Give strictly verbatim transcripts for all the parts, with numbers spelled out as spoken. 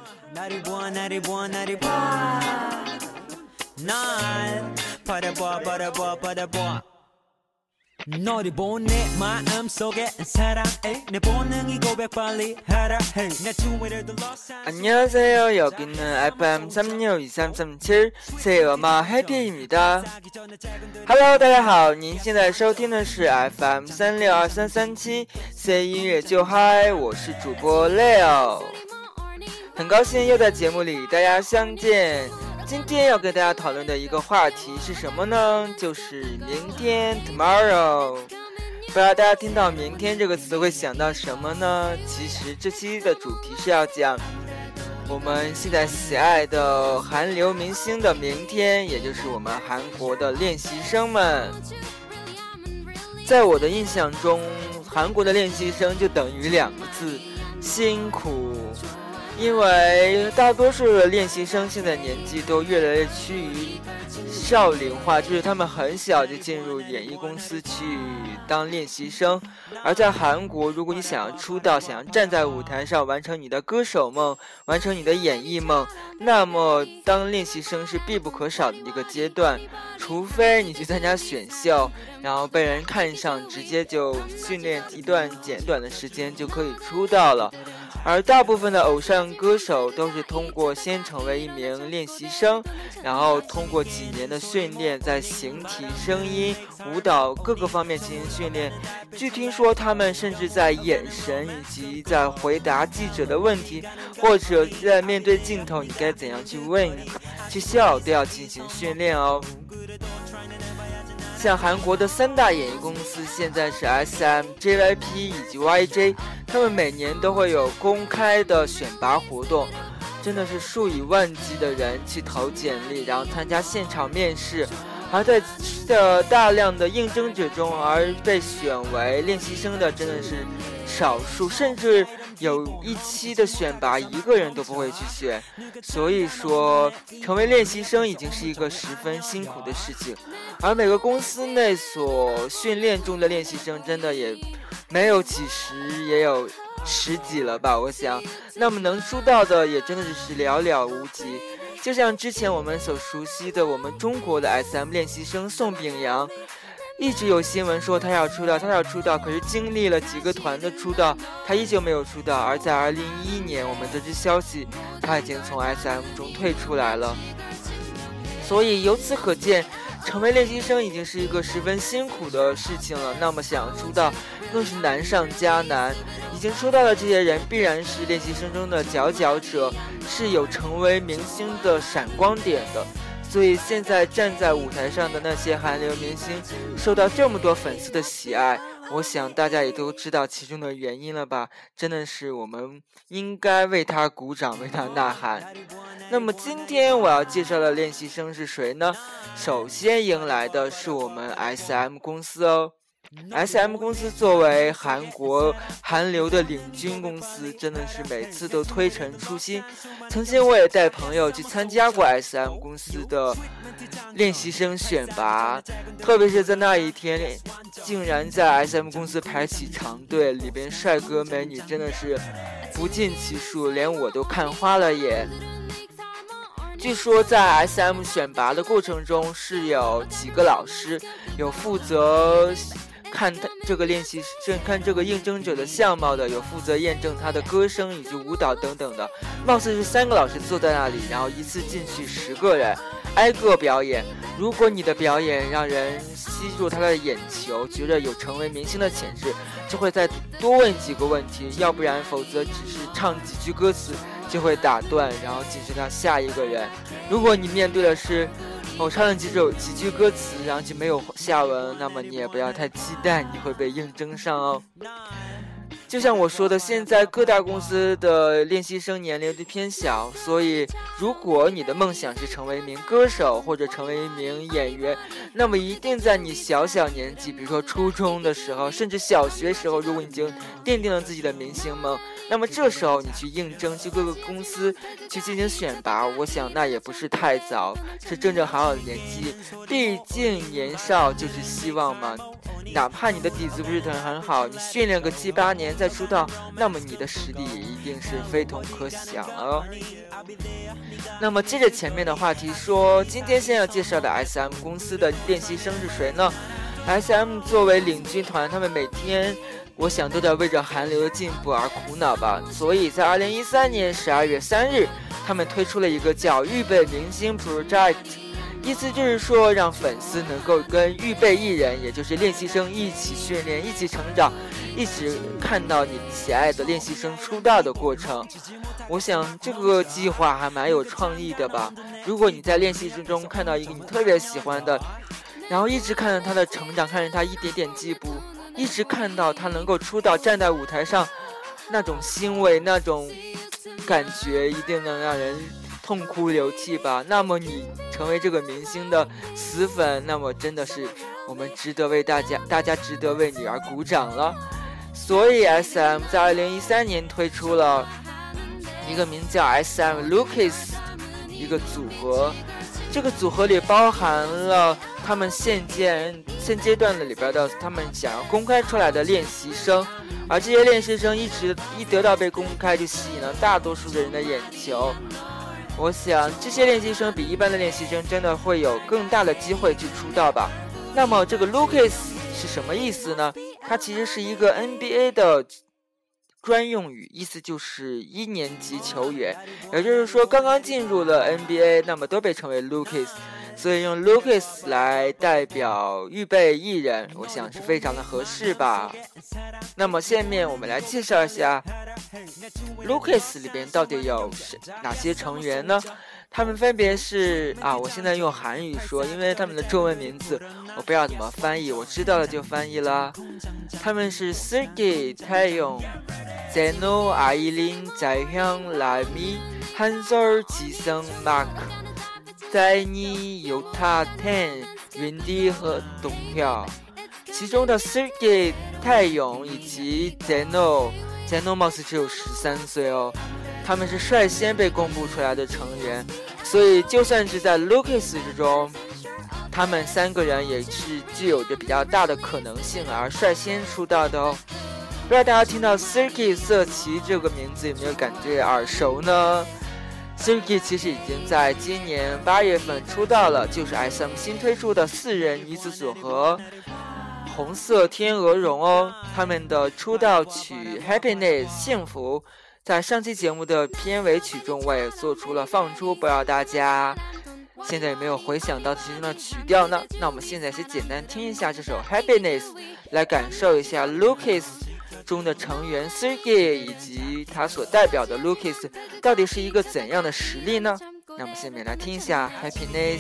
너를 보내 마음속에 사랑해 내 본능이 고백 빨리 하라 해 내 주위를 둘러싼 안녕하세요. 여기는 에프엠 삼육이삼삼칠 새엄마 해피입니다. Hello， 大家好，您现在收听的是 에프 엠三六二三三七 C 音乐就嗨，我是主播 Leo， 很高兴又在节目里与大家相见。今天要跟大家讨论的一个话题是什么呢？就是明天 tomorrow。 不知道大家听到明天这个词会想到什么呢？其实这期的主题是要讲我们现在喜爱的韩流明星的明天，也就是我们韩国的练习生们。在我的印象中，韩国的练习生就等于两个字：辛苦。因为大多数的练习生现在年纪都越来越趋于少龄化，就是他们很小就进入演艺公司去当练习生。而在韩国，如果你想要出道，想要站在舞台上完成你的歌手梦，完成你的演艺梦，那么当练习生是必不可少的一个阶段，除非你去参加选秀，然后被人看上，直接就训练一段简短的时间就可以出道了。而大部分的偶像歌手都是通过先成为一名练习生，然后通过几年的训练，在形体、声音、舞蹈各个方面进行训练。据听说他们甚至在眼神以及在回答记者的问题，或者在面对镜头你该怎样去问去笑都要进行训练哦。像韩国的三大演艺公司现在是 S M、J Y P 以及 Y J， 他们每年都会有公开的选拔活动，真的是数以万计的人去投简历，然后参加现场面试。而在这大量的应征者中，而被选为练习生的真的是少数，甚至有一期的选拔一个人都不会去选。所以说成为练习生已经是一个十分辛苦的事情，而每个公司内所训练中的练习生真的也没有几十，也有十几了吧，我想。那么能出道的也真的是寥寥无几。就像之前我们所熟悉的我们中国的 S M 练习生宋秉洋，一直有新闻说他要出道他要出道，可是经历了几个团的出道，他依旧没有出道。而在二零一一年我们得知消息，他已经从 S M 中退出来了。所以由此可见，成为练习生已经是一个十分辛苦的事情了，那么想要出道更是难上加难。已经出道的这些人必然是练习生中的佼佼者，是有成为明星的闪光点的。所以现在站在舞台上的那些韩流明星受到这么多粉丝的喜爱，我想大家也都知道其中的原因了吧，真的是我们应该为他鼓掌，为他呐喊。那么今天我要介绍的练习生是谁呢？首先迎来的是我们 S M 公司哦。S M 公司作为韩国韩流的领军公司，真的是每次都推陈出新。曾经我也带朋友去参加过 S M 公司的练习生选拔，特别是在那一天竟然在 S M 公司排起长队，里边帅哥美女真的是不计其数，连我都看花了眼。据说在 S M 选拔的过程中是有几个老师，有负责看他这个练习生看这个应征者的相貌的，有负责验证他的歌声以及舞蹈等等的，貌似是三个老师坐在那里，然后一次进去十个人挨个表演。如果你的表演让人吸住他的眼球，觉得有成为明星的潜质，就会再多问几个问题，要不然否则只是唱几句歌词就会打断，然后进行到下一个人。如果你面对的是我唱了几首几句歌词，然后就没有下文，那么你也不要太期待你会被应征上哦。就像我说的，现在各大公司的练习生年龄都偏小，所以如果你的梦想是成为一名歌手或者成为一名演员，那么一定在你小小年纪，比如说初中的时候，甚至小学时候，如果你已经奠定了自己的明星梦，那么这时候你去应征，去各个公司去进行选拔，我想那也不是太早，是正正好好的年纪，毕竟年少就是希望嘛。 哪怕你的底子不是很好，你训练个七八年再出道，那么你的实力也一定是非同可想了哦。那么接着前面的话题说，今天先要介绍的 S M 公司的练习生是谁呢？ S M 作为领军团，他们每天我想都在为着韩流的进步而苦恼吧，所以在二零一三年十二月三日，他们推出了一个叫预备明星 Project， 意思就是说让粉丝能够跟预备艺人，也就是练习生一起训练，一起成长，一起看到你喜爱的练习生出道的过程。我想这个计划还蛮有创意的吧。如果你在练习之中看到一个你特别喜欢的，然后一直看着他的成长，看着他一点点进步，一直看到他能够出道，站在舞台上，那种欣慰，那种感觉一定能让人痛哭流涕吧。那么你成为这个明星的死粉，那么真的是我们值得为大家大家值得为你而鼓掌了。所以 S M 在二零一三年推出了一个名叫 S M Lucas 一个组合，这个组合里包含了他们现阶现阶段的里边的他们想要公开出来的练习生，而这些练习生一直一得到被公开就吸引了大多数的人的眼球。我想这些练习生比一般的练习生真的会有更大的机会去出道吧。那么这个 Lucas 是什么意思呢？它其实是一个 N B A 的专用语，意思就是一年级球员，也就是说刚刚进入了 N B A， 那么都被称为 Lucas， 所以用 Lucas 来代表预备艺人，我想是非常的合适吧。那么下面我们来介绍一下 Lucas 里边到底有哪些成员呢？他们分别是啊，我现在用韩语说，因为他们的中文名字我不知道怎么翻译，我知道了就翻译啦。他们是 Sergey、泰勇、제노、아이린、자hyang、라미、한솔、지성、마크、在妮、요타、텐、윈디和董票。其中的 Sergey、泰勇以及 제노，제노貌似只有十三岁哦。他们是率先被公布出来的成员，所以就算是在 Lucas 之中，他们三个人也是具有着比较大的可能性而率先出道的哦。不知道大家听到 Sergey 瑟琪这个名字有没有感觉耳熟呢？ Sergey 其实已经在今年八月份出道了，就是 S M 新推出的四人女子组合红色天鹅绒哦。他们的出道曲 Happiness 幸福在上期节目的片尾曲中我也做出了放出，不知道大家现在有没有回想到其中的曲调呢？那我们现在是简单听一下这首 Happiness， 来感受一下 Lucas 中的成员 Sergey 以及他所代表的 Lucas 到底是一个怎样的实力呢？那我们下面来听一下 Happiness。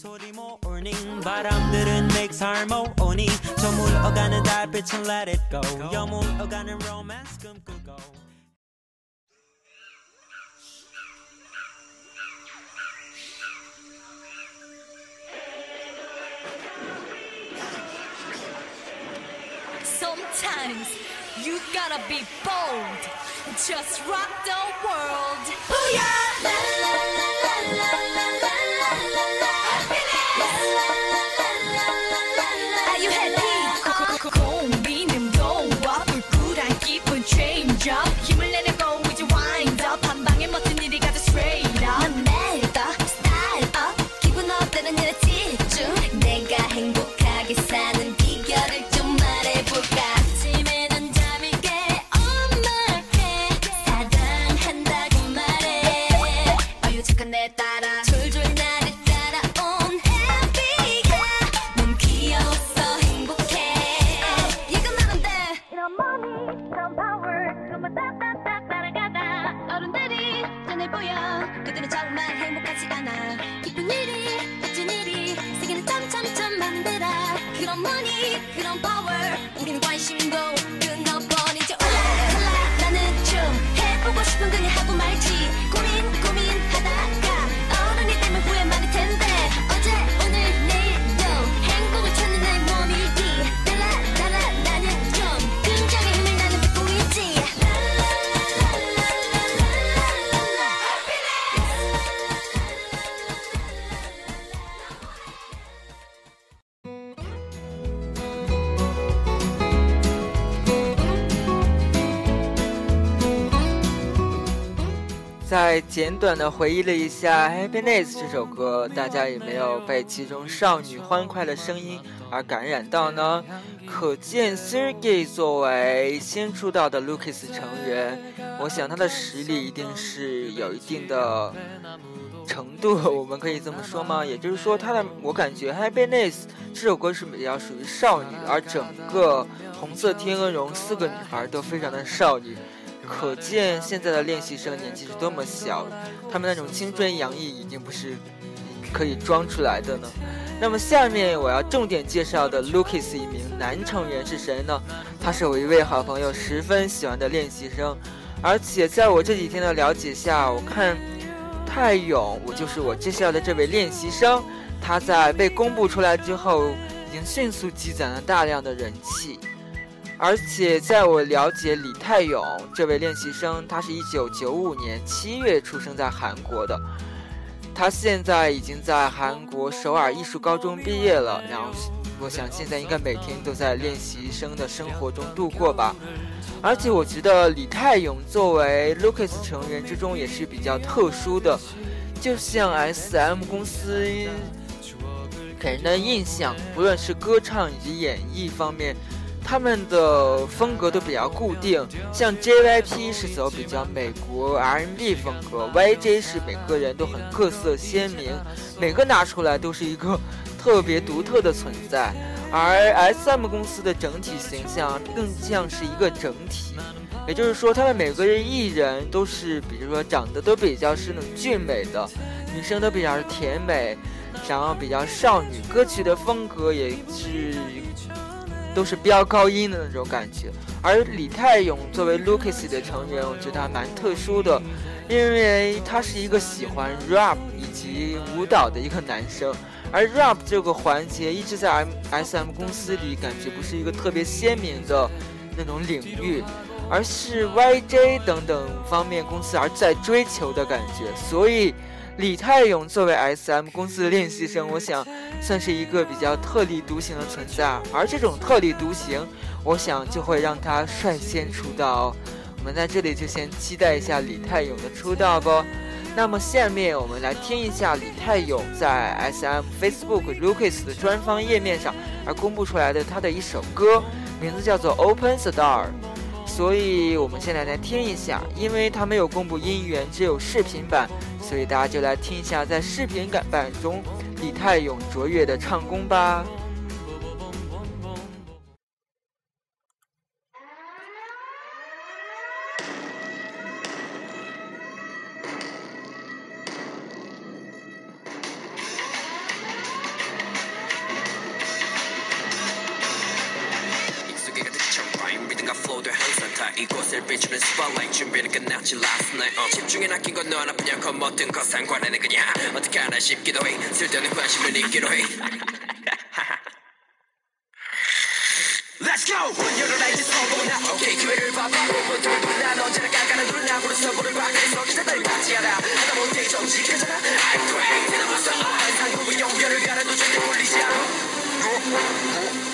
Sometimes you gotta be bold, just rock the world. Booyah! La la la la la la la la la. Happiness! La la la la la la la. Are you happy? 고민음도 불굴한 기분 change up. 힘을 내려고 이제 wind up. 한 방에 멋진 일이 가자 straight up. 내가 style up. 기분 up 되는 일에 집중. 내가 행복하게 사는 비결을 좀 말해볼까? 아침에 난 잠이 깨 on my bed. 사랑한다고 말해. 어유 잠깐 내 따라 졸졸 나를 따라온 happy가 너무 귀여웠어 행복해. 이것만은 돼. 이런 money 이런 power 그것만 딱딱딱 따라가다. 어른들이 전해 보여 그들은 정말 행복하지 않아. 기쁜 일이 멋진 일이 세계는 점점점 만들어. 그런 money 그런 power 우리는 관심도 끊어버리죠. 올라 나는 좀 해보고 싶은 그냥 하고 말지. 고민 고민하다가 어른이 되면 후회 많을 텐데 어제 오늘 내일도 행복을 찾는 나의 몸이지. 달라 달라 나는 좀 긍정의 힘을 나는 듣고 있지. 在简短的回忆了一下《Happiness》这首歌，大家有没有被其中少女欢快的声音而感染到呢？可见 Sergey 作为先出道的 Lucas 成员，我想他的实力一定是有一定的程度，我们可以这么说吗？也就是说，他的我感觉《Happiness》这首歌是比较属于少女，而整个红色天鹅绒四个女孩都非常的少女。可见现在的练习生年纪是多么小，他们那种青春洋溢已经不是可以装出来的呢。那么下面我要重点介绍的 Lucas 一名男成员是谁呢？他是我一位好朋友十分喜欢的练习生，而且在我这几天的了解下，我看泰勇，我就是我介绍的这位练习生，他在被公布出来之后已经迅速积攒了大量的人气。而且在我了解李泰勇这位练习生，他是一九九五年七月出生在韩国的，他现在已经在韩国首尔艺术高中毕业了，然后我想现在应该每天都在练习生的生活中度过吧。而且我觉得李泰勇作为 Lucas 成员之中也是比较特殊的，就像 S M 公司给人的印象，不论是歌唱以及演绎方面，他们的风格都比较固定，像 J Y P 是走比较美国 R and B 风格， Y J 是每个人都很各色鲜明，每个拿出来都是一个特别独特的存在。而 S M 公司的整体形象更像是一个整体，也就是说他们每个人艺人都是比如说长得都比较是那种俊美的，女生都比较甜美，然后比较少女，歌曲的风格也是都是飙高音的那种感觉。而李泰勇作为 Lucas 的成员，我觉得还蛮特殊的，因为他是一个喜欢 rap 以及舞蹈的一个男生，而 rap 这个环节一直在 S M 公司里感觉不是一个特别鲜明的那种领域，而是 Y J 等等方面公司而在追求的感觉。所以李泰勇作为 S M 公司的练习生，我想算是一个比较特立独行的存在，而这种特立独行，我想就会让他率先出道。我们在这里就先期待一下李泰勇的出道吧。那么下面我们来听一下李泰勇在 S M Facebook Lucas 的官方页面上而公布出来的他的一首歌，名字叫做 Open the Door。所以我们现在来听一下，因为他没有公布音源，只有视频版，所以大家就来听一下在视频版中李泰勇卓越的唱功吧。 이곳을 비추는 spotlight 준비는 끝났지 last night uh. 집중해 낚인 건 너 하나뿐이야 모든 것 상관에는 그냥 어떻게 하나 싶기도 해 쓸데없는 관심을 잊기로 해 Let's go! 열을 알지 성공은 나 오케이 기회를 봐봐 오픈들도 난 언제나 깐깐한 눈을 나무로 서보는 과거에서 기다려 받지 않아 하다 못해 정직하잖아 I'm great 내가 무슨 항상 후보 연결을 가라도 절대 몰리지 않아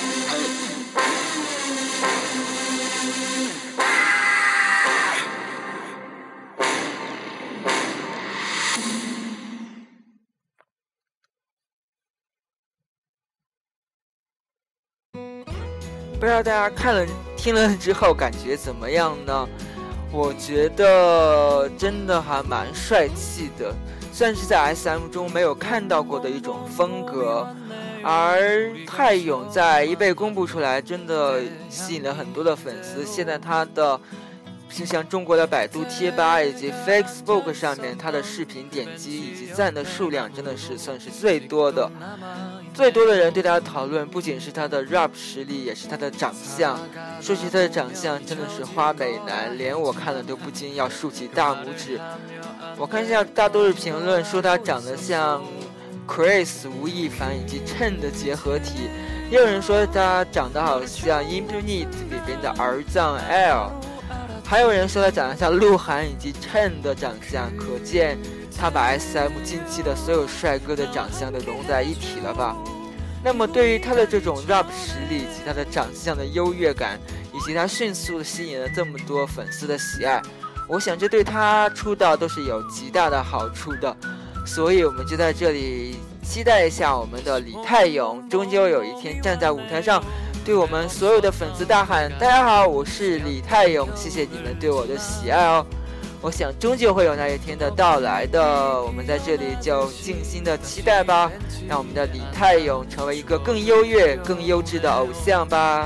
不知道大家看了听了之后感觉怎么样呢？我觉得真的还蛮帅气的，算是在 S M 中没有看到过的一种风格。而泰勇在一被公布出来，真的吸引了很多的粉丝。现在他的就像中国的百度贴吧以及 Facebook 上面，他的视频点击以及赞的数量真的是算是最多的。最多的人对他的讨论不仅是他的 rap 实力，也是他的长相。说起他的长相，真的是花美男，连我看了都不禁要竖起大拇指。我看一下大多数评论说他长得像 Chris 吴亦凡以及Chen的结合体，也有人说他长得好像 Infinite 里边的儿藏 L， 还有人说他长得像鹿晗以及Chen的长相，可见他把 S M 近期的所有帅哥的长相都融在一起了吧。那么对于他的这种 rap 实力以及他的长相的优越感，以及他迅速的吸引了这么多粉丝的喜爱， 我想这对他出道都是有极大的好处的，所以我们就在这里期待一下我们的李泰勇，终究有一天站在舞台上，对我们所有的粉丝大喊：大家好，我是李泰勇，谢谢你们对我的喜爱哦。我想终究会有那一天的到来的，我们在这里就静心的期待吧，让我们的李泰勇成为一个更优越更优质的偶像吧。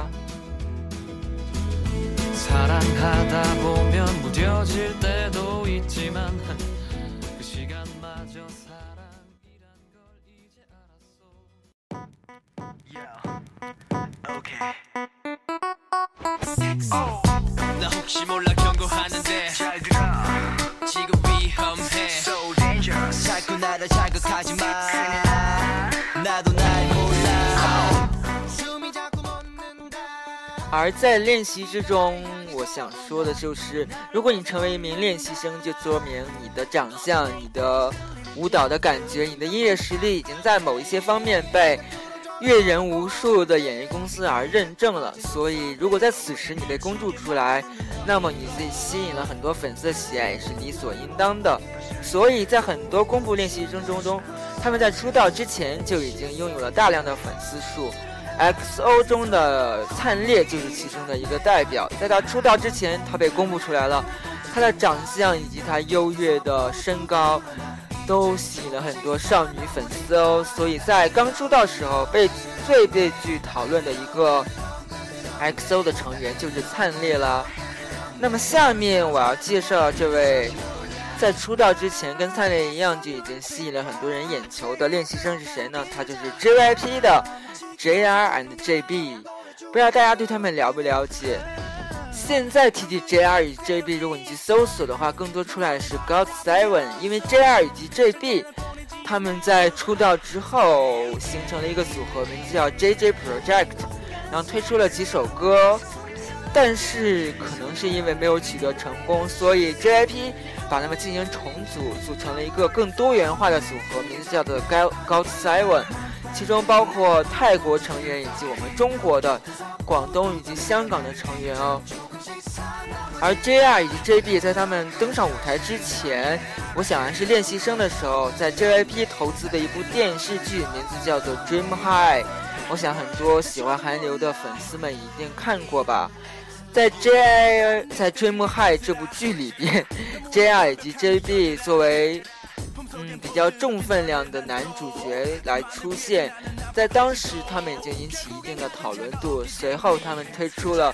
사랑하다 보면 무뎌질 때도 있지만 그 시간마저 사랑이란 걸 이제 알았어. Yeah. Okay. Oh. 나 혹시 몰라 경고하는데 잘 들어. 지금 위험해. So dangerous. 자꾸 나를 자극하지 마. 나도 날 몰라. 숨이 자꾸 멎는다. 而在练习之中，我想说的就是，如果你成为一名练习生，就说明你的长相、你的舞蹈的感觉、你的音乐实力已经在某一些方面被阅人无数的演艺公司而认证了。所以，如果在此时你被公诸出来，那么你自己吸引了很多粉丝的喜爱也是理所应当的。所以在很多公布练习生中中，他们在出道之前就已经拥有了大量的粉丝数。X O 中的灿烈就是其中的一个代表，在他出道之前，他被公布出来了，他的长相以及他优越的身高，都吸引了很多少女粉丝哦。所以在刚出道时候，被最被具讨论的一个 X O 的成员就是灿烈啦。那么下面我要介绍这位在出道之前跟灿烈一样就已经吸引了很多人眼球的练习生是谁呢？他就是 J Y P 的J R and J B， 不知道大家对他们了不了解？现在提起 J R 与 J B， 如果你去搜索的话，更多出来的是 God Seven， 因为 J R 以及 J B， 他们在出道之后形成了一个组合，名字叫 J J Project， 然后推出了几首歌，但是可能是因为没有取得成功，所以 J Y P 把他们进行重组，组成了一个更多元化的组合，名字叫做 God Seven。其中包括泰国成员以及我们中国的、广东以及香港的成员哦。而 J R 以及 J B 在他们登上舞台之前，我想还是练习生的时候，在 J Y P 投资的一部电视剧，名字叫做 Dream High， 我想很多喜欢韩流的粉丝们一定看过吧。在 J R 在 Dream High 这部剧里边 ，J R 以及 J B 作为嗯，比较重分量的男主角来出现，在当时他们已经引起一定的讨论度。随后他们推出了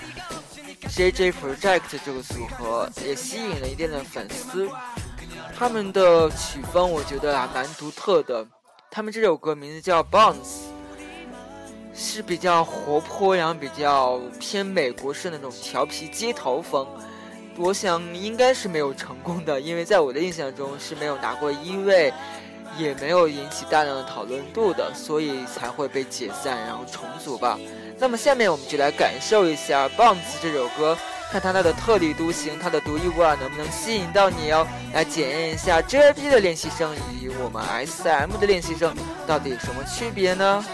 J J Project 这个组合，也吸引了一定的粉丝。他们的曲风我觉得还蛮独特的，他们这首歌名字叫 Bounce， 是比较活泼，然后比较偏美国式那种调皮街头风。我想应该是没有成功的，因为在我的印象中是没有拿过一位，也没有引起大量的讨论度的，所以才会被解散然后重组吧。那么下面我们就来感受一下 Bounce 这首歌，看它的特立独行，它的独一无二能不能吸引到你哦，来检验一下 J Y P 的练习生以及我们 S M 的练习生到底有什么区别呢？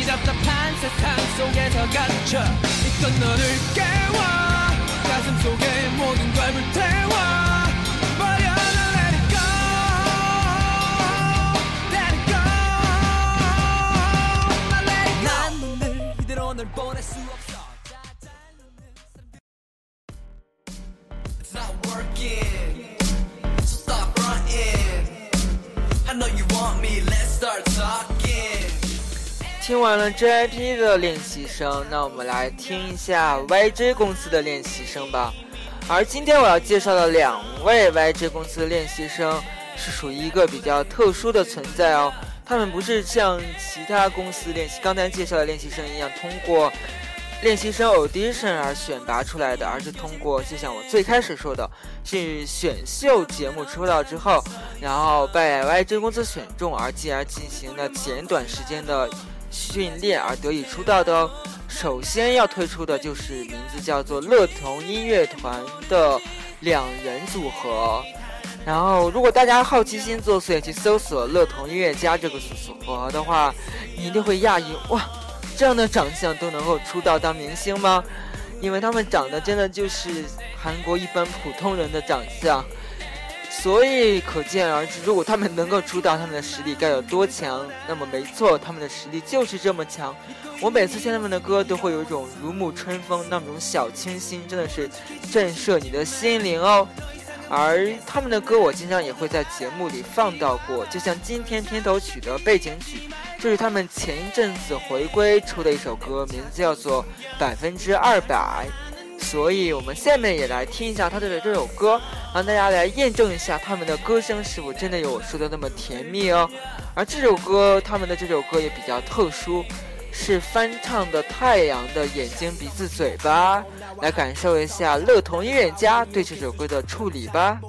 답답한 세상 속에서 갇혀 있던 너를 깨워 가슴 속의 모든 걸 불태워 버려 난 let it go let it go 난 let it go 난 늘 이대로 널 보낼 수 없어 It's not working So stop running I know you want me Let's start talking 听完了 J Y P 的练习生，那我们来听一下 Y J 公司的练习生吧。而今天我要介绍的两位 Y J 公司的练习生是属于一个比较特殊的存在哦，他们不是像其他公司练习刚才介绍的练习生一样通过练习生 audition 而选拔出来的，而是通过就像我最开始说的，是选秀节目出道之后，然后被 Y J 公司选中，而进而进行了简短时间的训练而得以出道的哦。首先要推出的就是名字叫做乐童音乐团的两人组合。然后如果大家好奇心作祟去搜索乐童音乐家这个组合的话，你一定会讶异，哇，这样的长相都能够出道当明星吗？因为他们长得真的就是韩国一般普通人的长相，所以可见而知，如果他们能够出道，他们的实力该有多强。那么没错，他们的实力就是这么强。我每次听他们的歌都会有一种如沐春风，那种小清新，真的是震慑你的心灵哦。而他们的歌我经常也会在节目里放到过，就像今天片头曲的背景曲，就是他们前一阵子回归出的一首歌，名字叫做百分之二百。所以我们下面也来听一下他的这首歌，让大家来验证一下他们的歌声是否真的有我说的那么甜蜜哦。而这首歌，他们的这首歌也比较特殊，是翻唱的太阳的眼睛鼻子嘴巴，来感受一下乐童音乐家对这首歌的处理吧。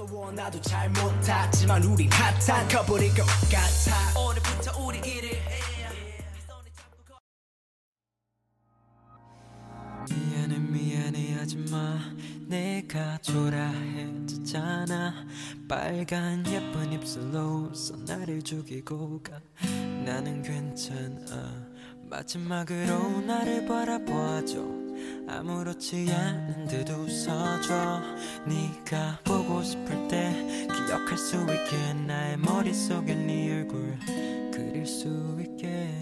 미안해 미안해 하지마 내가 초라해졌잖아 빨간 예쁜 입술로 웃어 나를 죽이고 가 나는 괜찮아 마지막으로 나를 바라봐줘 아무렇지 않은 듯 웃어줘 네가 보고 싶을 때 기억할 수 있게 나의 머릿속에 네 얼굴 그릴 수 있게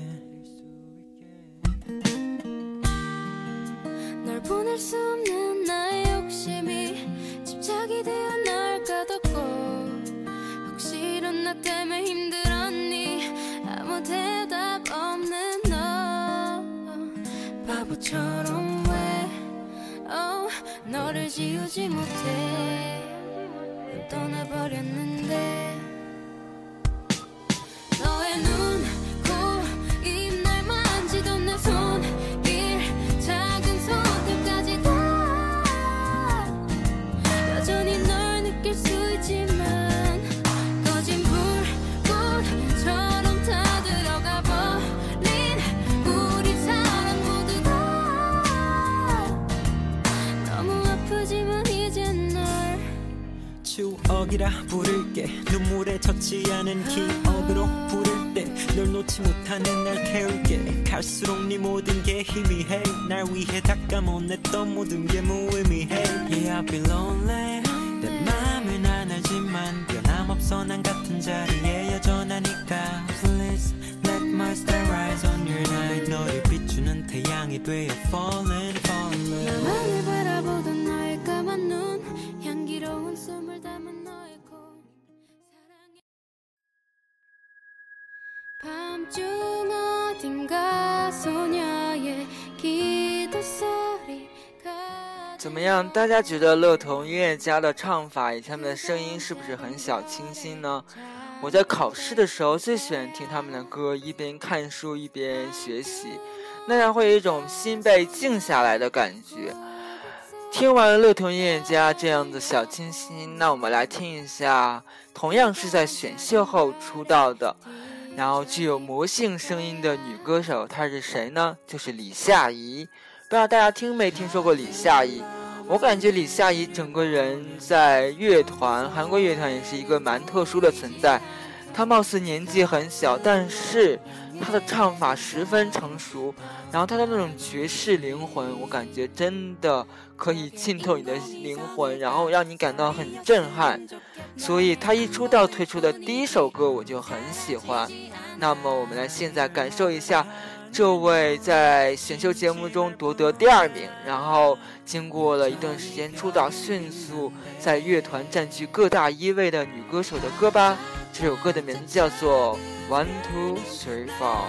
널 보낼 수 없는 나의 욕심이 집착이 되어 널 가뒀고 혹시로 나 때문에 힘들었니 아무 대답 없는 너 바보처럼 왜 oh, 너를 지우지 못해 넌 떠나버렸는데 너의 눈, 코, 입 날 만지던 내 손길 작은 손끝까지 다 여전히 널 느낄 수 있지만 꺼진 불꽃처럼 다 들어가 버린 우리 사랑 모두가 너무 아프지만 이젠 널 추억이라 부를게 눈물에 젖지 않은 기억으로 부를 때 널 놓지 못하는 날 태울게 갈수록 네 모든 게 희미해 날 위해 닦아못냈던 모든 게 무의미해 Yeah I've been lonely 내 맘을 난 알지만 변함없어 난 같은 자리에 여전하니까 Please let my star rise on your night 너를 비추는 태양이 되어 falling falling 나만을 바라보던 너의 까만 눈 향기로운 숨을 담은 너의 코 사랑해 밤중 어딘가 소녀의 기도 소리가 怎么样？大家觉得乐童音乐家的唱法以及他们的声音是不是很小清新呢？我在考试的时候最喜欢听他们的歌，一边看书一边学习，那样会有一种心被静下来的感觉。听完了乐童音乐家这样的小清新，那我们来听一下同样是在选秀后出道的，然后具有魔性声音的女歌手，她是谁呢？就是李夏怡。不知道大家听没听说过李夏怡？我感觉李夏怡整个人在乐团，韩国乐团也是一个蛮特殊的存在。 她貌似年纪很小，但是她的唱法十分成熟，然后她的那种爵士灵魂，我感觉真的可以浸透你的灵魂，然后让你感到很震撼。所以她一出道推出的第一首歌我就很喜欢。那么我们来现在感受一下这位在选秀节目中夺得第二名，然后经过了一段时间出道，迅速在乐团占据各大一位的女歌手的歌吧。这首歌的名字叫做 One Two Three Four。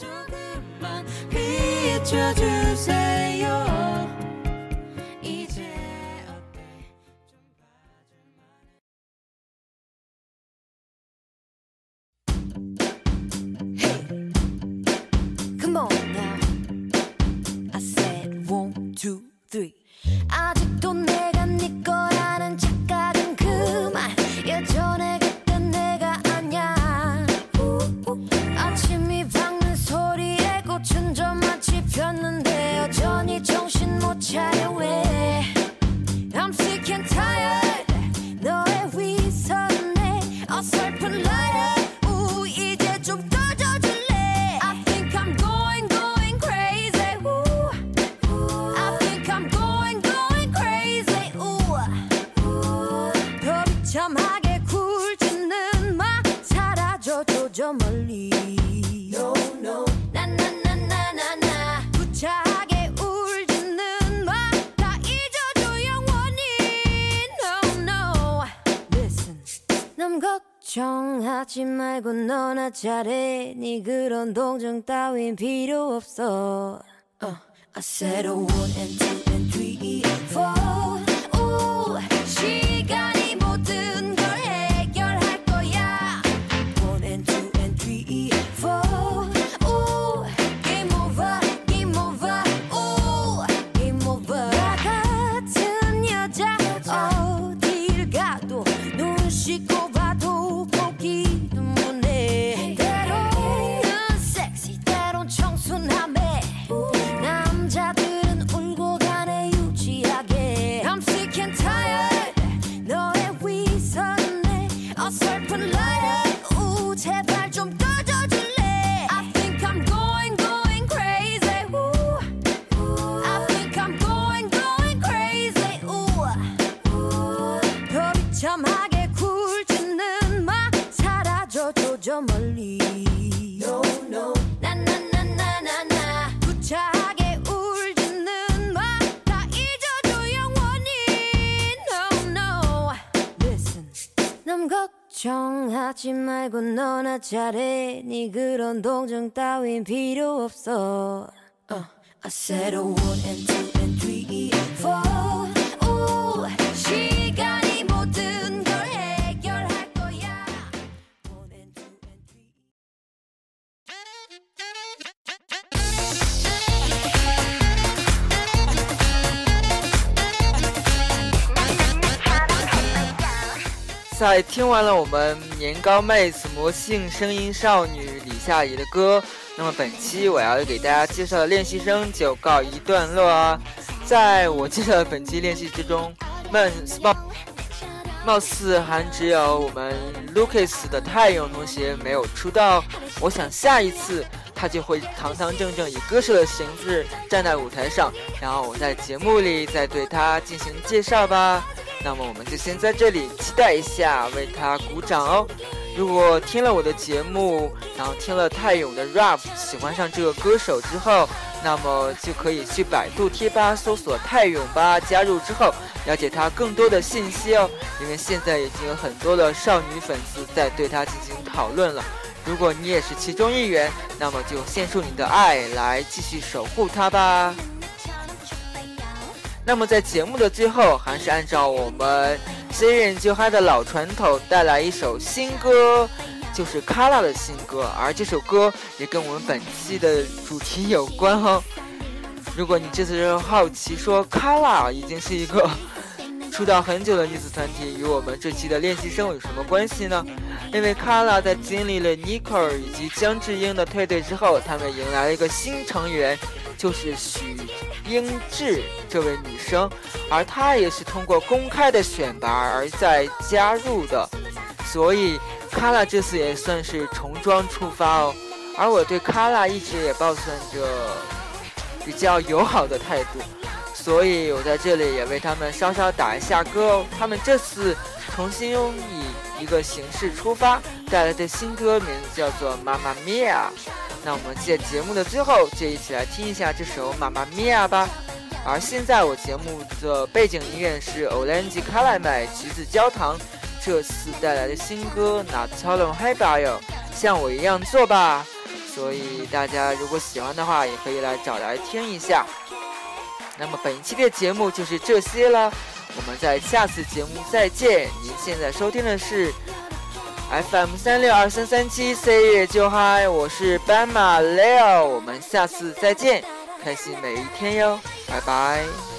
아직도 내가 네 거라는 착각은 그만 예전에 그땐 내가 아냐 아침이 밝는 소리에 꽃은 좀 마치 폈는데 여전히 정신 못 차려 왜 I'm sick and tired 너의 위선에 어설픈 lighter 우 이제 좀 꺼져줄래 I think I'm going going crazy 우 I think I'm going going crazy 우 더 비참하게 굴지는 마 사라져줘 저 멀리 No no 나나나나나나 구차하게 울지는 마 다 잊어줘 영원히 No no Listen 남 걱정하지 말고 너나 잘해 네 그런 동정 따윈 필요 없어 uh, I said a one and two and three four 오 시간이 모든 걸 해결할 거야 one and two and three four 오 game over game over 오 game over 나 같은 여자 어딜 가도 눈 씻고 봐도 보기도 못해 때로는 섹시 때론 청순함에 남자들은 울고 가네 유치하게 I'm sick and tired 너의 위선에 어설픈 lighter 우 제발 좀 꺼져줄래 I think I'm going going crazy 우 I think I'm going going crazy 우 더 비참하게 굴지는 마 사라져줘 저 멀리 No no 나나나나나나 구차하게 울지는 마 다 잊어줘 영원히 No no Listen 남 걱정하지 말고 너나 잘해 네 그런 동정 따윈 필요 없어 uh, I said a one and two and three four 오 시간이 모든 걸 해결할 거야 one and two and three 在听完了我们年糕妹子魔性声音少女李夏怡的歌，那么本期我要给大家介绍的练习生就告一段落啊。在我介绍的本期练习之中，们貌似还只有我们 Lucas 的太勇同学没有出道，我想下一次他就会堂堂正正以歌手的形式站在舞台上，然后我在节目里再对他进行介绍吧。那么我们就先在这里期待一下，为他鼓掌哦。如果听了我的节目，然后听了泰勇的 rap， 喜欢上这个歌手之后，那么就可以去百度贴吧搜索泰勇吧，加入之后了解他更多的信息哦。因为现在已经有很多的少女粉丝在对他进行讨论了。如果你也是其中一员，那么就献出你的爱来继续守护他吧。那么在节目的最后，还是按照我们 C 人就嗨的老传统，带来一首新歌，就是卡拉的新歌，而这首歌也跟我们本期的主题有关哦。如果你这次是好奇说卡拉已经是一个出道很久的女子团体，与我们这期的练习生有什么关系呢？因为卡拉在经历了 Nicole 以及姜智英的退队之后，他们迎来了一个新成员，就是许英智这位女生，而她也是通过公开的选拔而再加入的，所以卡拉这次也算是重装出发哦，而我对卡拉一直也抱算着比较友好的态度，所以我在这里也为他们稍稍打一下歌哦。他们这次重新以一个形式出发，带来的新歌名字叫做《妈妈咪呀》。那我们在节目的最后就一起来听一下这首《妈妈咪呀》吧。而现在我节目的背景音乐是 Orange Caramel 橘子焦糖这次带来的新歌《나처럼 해봐요》，像我一样做吧。所以大家如果喜欢的话，也可以来找来听一下。那么本期的节目就是这些了，我们在下次节目再见。您现在收听的是 F M 三六二三三七 C 月就嗨，我是斑马 Leo， 我们下次再见，开心每一天哟，拜拜。